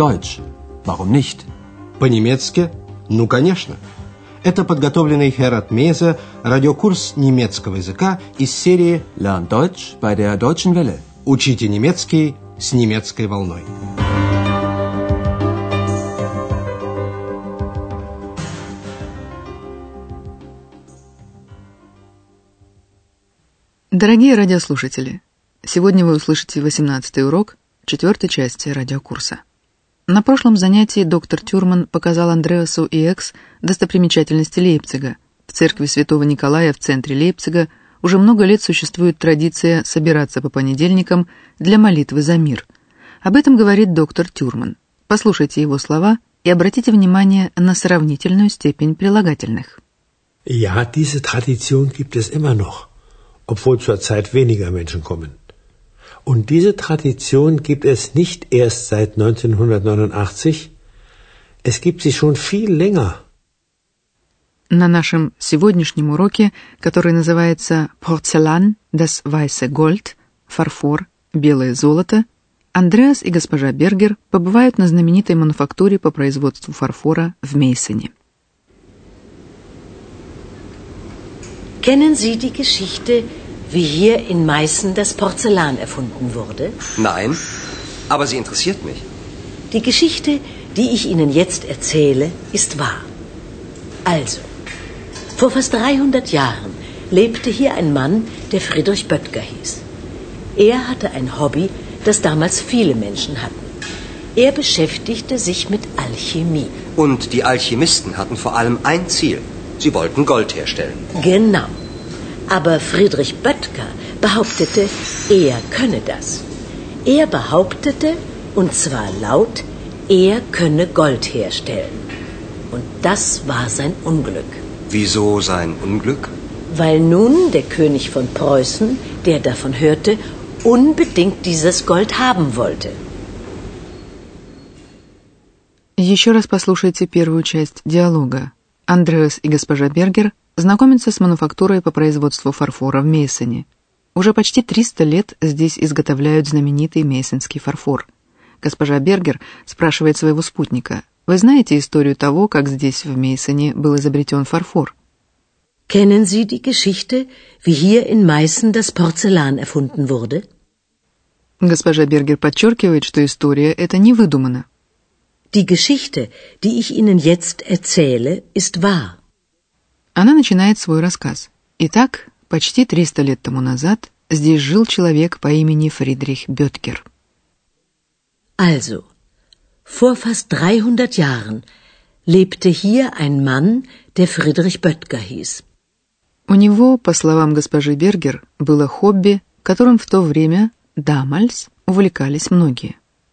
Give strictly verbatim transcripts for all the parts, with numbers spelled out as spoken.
Deutsch. Warum nicht? По-немецки? Ну, конечно. Это подготовленный Херат Мейзе радиокурс немецкого языка из серии Lern Deutsch bei der Deutschen Welle. «Учите немецкий с немецкой волной». Дорогие радиослушатели, сегодня вы услышите восемнадцатый урок четвертой части радиокурса. На прошлом занятии доктор Тюрман показал Андреасу и Экс достопримечательности Лейпцига. В церкви святого Николая в центре Лейпцига уже много лет существует традиция собираться по понедельникам для молитвы за мир. Об этом говорит доктор Тюрман. Послушайте его слова и обратите внимание на сравнительную степень прилагательных. Ja, diese Tradition gibt es immer noch, obwohl zurzeit weniger Menschen kommen. Und diese Tradition gibt es nicht erst seit neunzehnhundertneunundachtzig, es gibt sie schon viel länger. На нашем сегодняшнем уроке, который называется «Porzellan, das weiße Gold», «Фарфор, белое золото», Андреас и госпожа Бергер побывают на знаменитой мануфактуре по производству фарфора в Мейсене. Kennen Sie die Geschichte, wie hier in Meißen das Porzellan erfunden wurde? Nein, aber sie interessiert mich. Die Geschichte, die ich Ihnen jetzt erzähle, ist wahr. Also, vor fast dreihundert Jahren lebte hier ein Mann, der Friedrich Böttger hieß. Er hatte ein Hobby, das damals viele Menschen hatten. Er beschäftigte sich mit Alchemie. Und die Alchemisten hatten vor allem ein Ziel. Sie wollten Gold herstellen. Genau. Aber Friedrich Böttger behauptete, er könne das. Er behauptete, und zwar laut, er könne Gold herstellen. Und das war sein Unglück. Wieso sein Unglück? Weil nun der König von Preußen, der davon hörte, unbedingt dieses Gold haben wollte. Еще раз послушайте первую часть диалога. Андреас и госпожа Бергер знакомятся с мануфактурой по производству фарфора в Мейсене. Уже почти триста лет здесь изготовляют знаменитый мейсенский фарфор. Госпожа Бергер спрашивает своего спутника: «Вы знаете историю того, как здесь, в Мейсене, был изобретен фарфор?» Kennen Sie die Geschichte, wie hier in Meißen das Porzellan erfunden wurde? Госпожа Бергер подчеркивает, что история эта не выдумана. Die Geschichte, die ich Ihnen jetzt erzähle, ist wahr. Она начинает свой рассказ. Итак, почти триста лет тому назад здесь жил человек по имени Фридрих Бöttger. Also, vor fast dreihundert Jahren lebte hier ein Mann, der Friedrich Böttger hieß. У него, по словам госпожи Бергер, было хобби, которым в то время, damals, увлекались многие.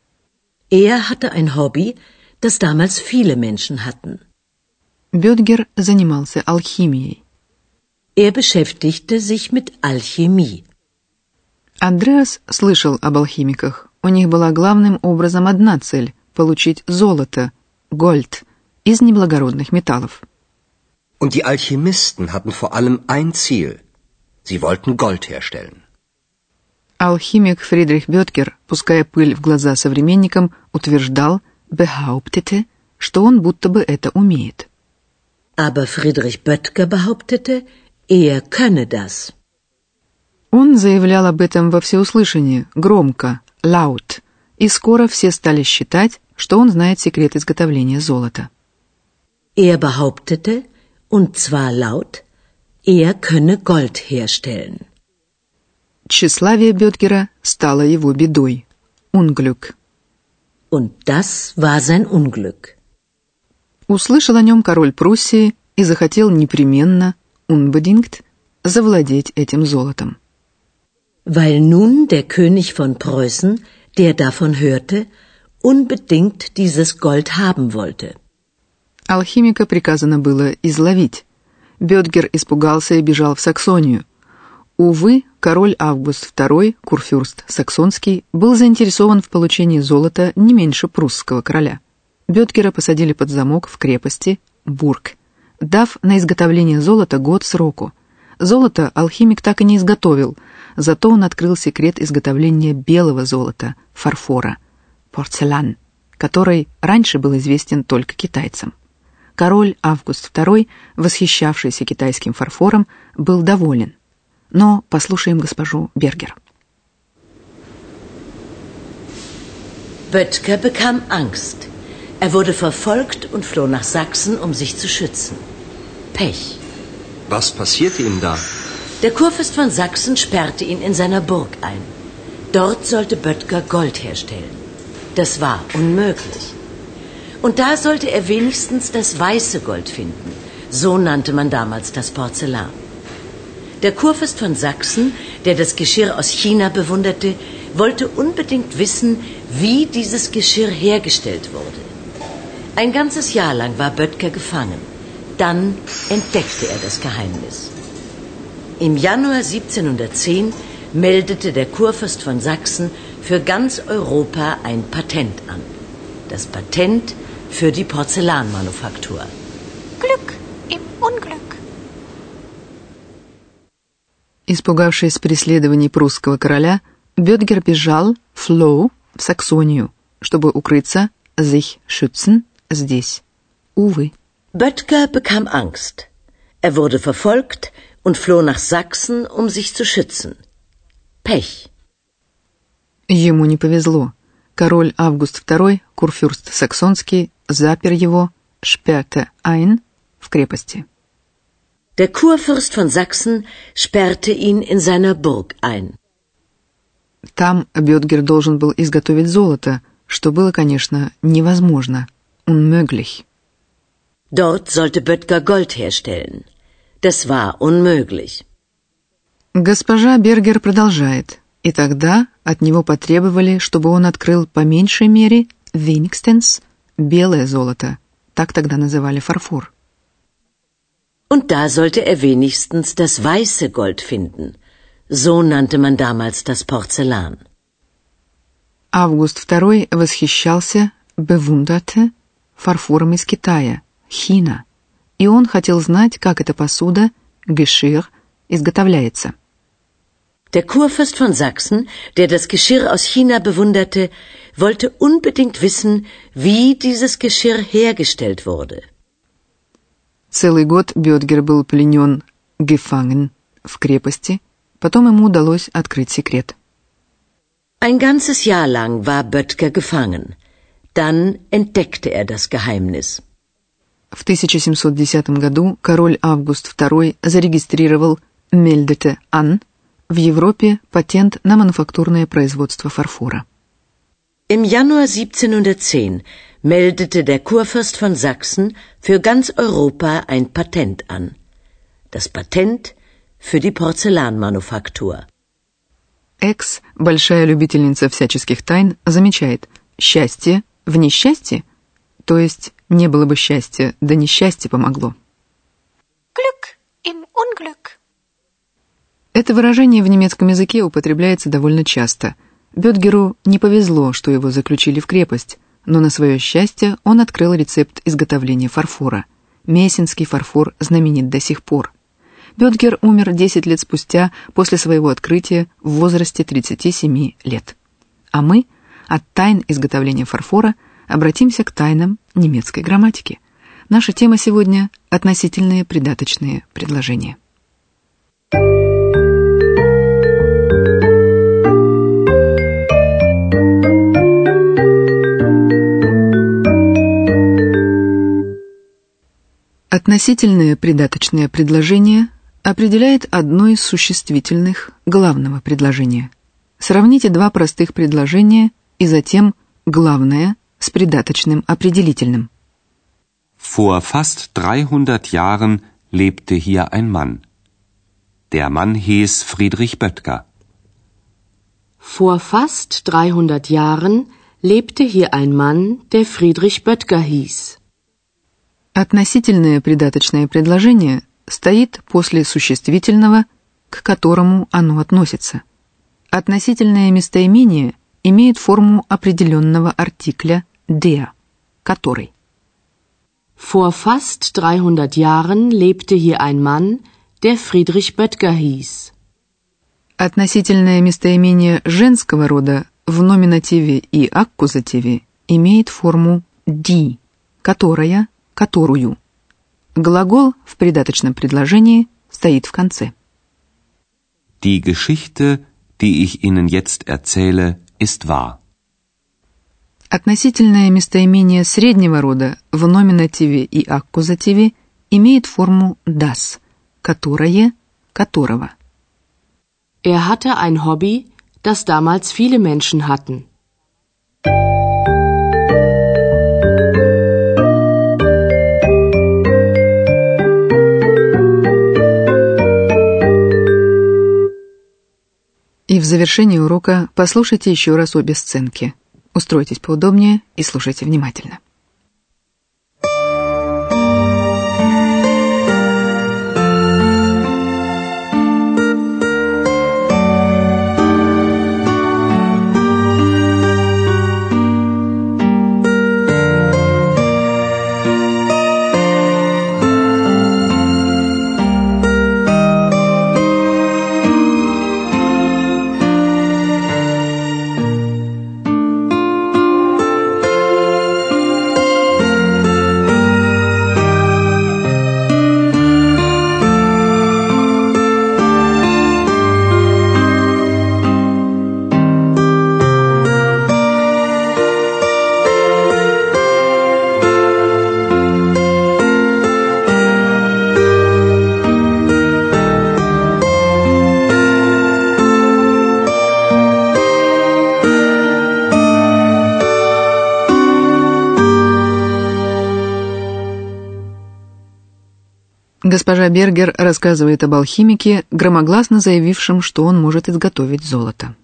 Er hatte ein Hobby, das damals viele Menschen hatten. Бöttger занимался алхимией. Er beschäftigte sich mit Alchemie. Андреас слышал об алхимиках. У них была главным образом одна цель – получить золото, Gold, из неблагородных металлов. Und die Alchemisten hatten vor allem ein Ziel. Sie wollten Gold herstellen. Алхимик Фридрих Бöttger, пуская пыль в глаза современникам, утверждал, behauptete, что он будто бы это умеет. Aber Friedrich Böttger behauptete, er könne das. Он заявлял об этом во всеуслышание, громко, laut, и скоро все стали считать, что он знает секрет изготовления золота. Er behauptete, und zwar laut, er könne Gold herstellen. Тщеславие Бöttgera стало его бедой. Unglück. Und das war sein Unglück. Услышал о нем король Пруссии и захотел непременно, unbedingt, завладеть этим золотом. Weil nun der König von Preußen, der davon hörte, unbedingt dieses Gold haben wollte. Алхимика приказано было изловить. Бöttger испугался и бежал в Саксонию. Увы, король Август второй, курфюрст саксонский, был заинтересован в получении золота не меньше прусского короля. Бöttgera посадили под замок в крепости Бург, дав на изготовление золота год сроку. Золото алхимик так и не изготовил, зато он открыл секрет изготовления белого золота, фарфора, порцелян, который раньше был известен только китайцам. Король Август второй, восхищавшийся китайским фарфором, был доволен. Но послушаем госпожу Бергер. Böttger bekam Angst. Er wurde verfolgt und floh nach Sachsen, um sich zu schützen. Pech. Was passierte ihm da? Der Kurfürst von Sachsen sperrte ihn in seiner Burg ein. Dort sollte Böttger Gold herstellen. Das war unmöglich. Und da sollte er wenigstens das weiße Gold finden. So nannte man damals das Porzellan. Der Kurfürst von Sachsen, der das Geschirr aus China bewunderte, wollte unbedingt wissen, wie dieses Geschirr hergestellt wurde. Ein ganzes Jahr lang war Böttger gefangen. Dann entdeckte er das Geheimnis. Im Januar siebzehnhundertzehn meldete der Kurfürst von Sachsen für ganz Europa ein Patent an. Das Patent für die Porzellanmanufaktur. Glück im Unglück. Испугавшись преследований прусского короля, Бёдгер бежал, floh, в Саксонию, чтобы укрыться, sich schützen, здесь. Увы. Böttger bekam Angst. Er wurde verfolgt und floh nach Sachsen, um sich zu schützen. Pech. Ему не повезло. Король Август второй, курфюрст Саксонский, запер его, sperrte ein, в крепости. Der Kurfürst von Sachsen sperrte ihn in seiner Burg ein. Там Бёдгер должен был изготовить золото, что было, конечно, невозможно. Unmöglich. Dort sollte Böttger Gold herstellen. Das war unmöglich. Госпожа Бергер продолжает. И тогда от него потребовали, чтобы он открыл по меньшей мере, wenigstens, белое золото. Так тогда называли фарфор. Und da sollte er wenigstens das weiße Gold finden. So nannte man damals das Porzellan. Август второй восхищался, bewunderte, фарфором из Китая, Хина. И он хотел знать, как эта посуда, Geschirr, изготовляется. Der Kurfürst von Sachsen, der das Geschirr aus China bewunderte, wollte unbedingt wissen, wie dieses Geschirr hergestellt wurde. Целый год Бёдгер был пленен, gefangen, в крепости, потом ему удалось открыть секрет. Ein ganzes Jahr lang war Böttger gefangen. Dann entdeckte er das Geheimnis. В тысяча семьсот десятом году король Август второй зарегистрировал meldete an в Европе патент на мануфактурное производство фарфора. Im Januar siebzehnhundertzehn meldete der Kurfürst von Sachsen für ganz Europa ein Patent an. Das Patent für die Porzellanmanufaktur. Экс, большая любительница всяческих тайн, замечает: счастье в несчастье, то есть не было бы счастья, да несчастье помогло. Glück im Unglück. Это выражение в немецком языке употребляется довольно часто. Бёдгеру не повезло, что его заключили в крепость, но на свое счастье он открыл рецепт изготовления фарфора. Мессинский фарфор знаменит до сих пор. Бёдгер умер десять лет спустя после своего открытия в возрасте тридцати семи лет. А мы от тайн изготовления фарфора обратимся к тайнам немецкой грамматики. Наша тема сегодня – относительные придаточные предложения. Относительное придаточное предложение определяет одно из существительных главного предложения. Сравните два простых предложения и затем главное с придаточным определительным. Vor fast dreihundert Jahren lebte hier ein Mann. Der Mann hieß Friedrich Böttger. Vor fast dreihundert Jahren lebte hier ein Mann, der Friedrich Böttger hieß. Относительное придаточное предложение стоит после существительного, к которому оно относится. Относительное местоимение имеет форму определенного артикля der, который. Vor fast dreihundert Jahren lebte hier ein Mann, der Friedrich Böttger hieß. Относительное местоимение женского рода в номинативе и аккузативе имеет форму die, которая, которую. Глагол в придаточном предложении стоит в конце. Die Geschichte, die ich Ihnen jetzt erzähle, ist wahr. Относительное местоимение среднего рода в номинативе и аккузативе имеет форму das, которое, которого. Er hatte ein Hobby, das damals viele Menschen hatten. И в завершении урока послушайте еще раз обе сценки. Устройтесь поудобнее и слушайте внимательно. Госпожа Бергер рассказывает об алхимике, громогласно заявившем, что он может изготовить золото.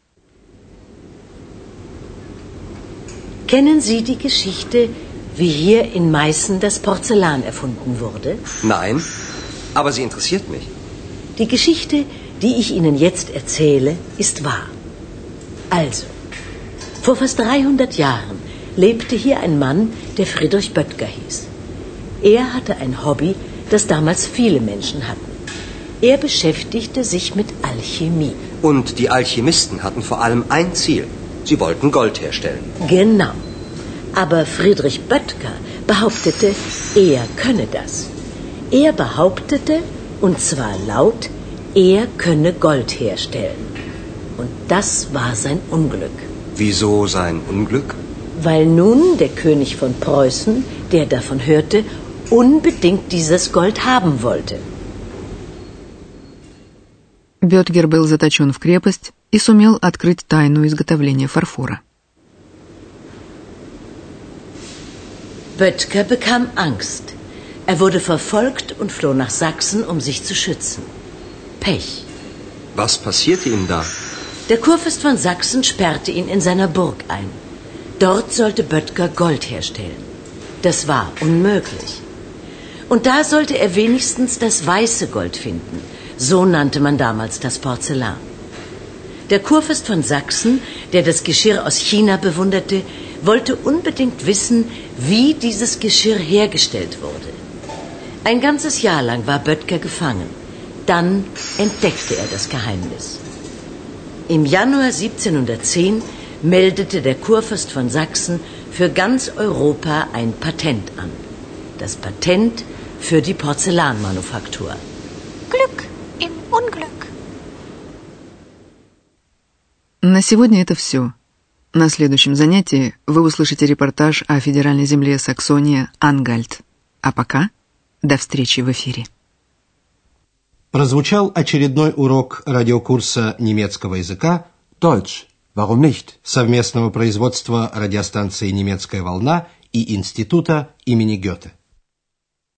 Kennen Sie die Geschichte, wie hier in Meißen das Porzellan erfunden wurde? Nein, aber sie interessiert mich. Die Geschichte, die ich Ihnen jetzt erzähle, ist wahr. Also, vor fast dreihundert Jahren lebte hier ein Mann, der Friedrich Böttger hieß. Er hatte ein Hobby, das damals viele Menschen hatten. Er beschäftigte sich mit Alchemie. Und die Alchemisten hatten vor allem ein Ziel. Sie wollten Gold herstellen. Genau. Aber Friedrich Böttger behauptete, er könne das. Er behauptete, und zwar laut, er könne Gold herstellen. Und das war sein Unglück. Wieso sein Unglück? Weil nun der König von Preußen, der davon hörte, unbedingt dieses Gold haben wollte. Бётгер был заточен в крепость и сумел открыть тайну изготовления фарфора. Böttger bekam Angst. Er wurde verfolgt und floh nach Sachsen, um sich zu schützen. Pech. Was passierte ihm da? Der Kurfürst von Sachsen sperrte ihn in seiner Burg ein. Dort sollte Böttger Gold herstellen. Das war unmöglich. Und da sollte er wenigstens das weiße Gold finden. So nannte man damals das Porzellan. Der Kurfürst von Sachsen, der das Geschirr aus China bewunderte, wollte unbedingt wissen, wie dieses Geschirr hergestellt wurde. Ein ganzes Jahr lang war Böttger gefangen. Dann entdeckte er das Geheimnis. Im Januar siebzehnhundertzehn meldete der Kurfürst von Sachsen für ganz Europa ein Patent an. Das Patent für die Porzellanmanufaktur. Glück im Unglück. На сегодня это все. На следующем занятии вы услышите репортаж о федеральной земле Саксония-Ангальт. А пока до встречи в эфире. Прозвучал очередной урок радиокурса немецкого языка Deutsch. Warum nicht? Совместного производства радиостанции «Немецкая волна» и Института имени Гёте.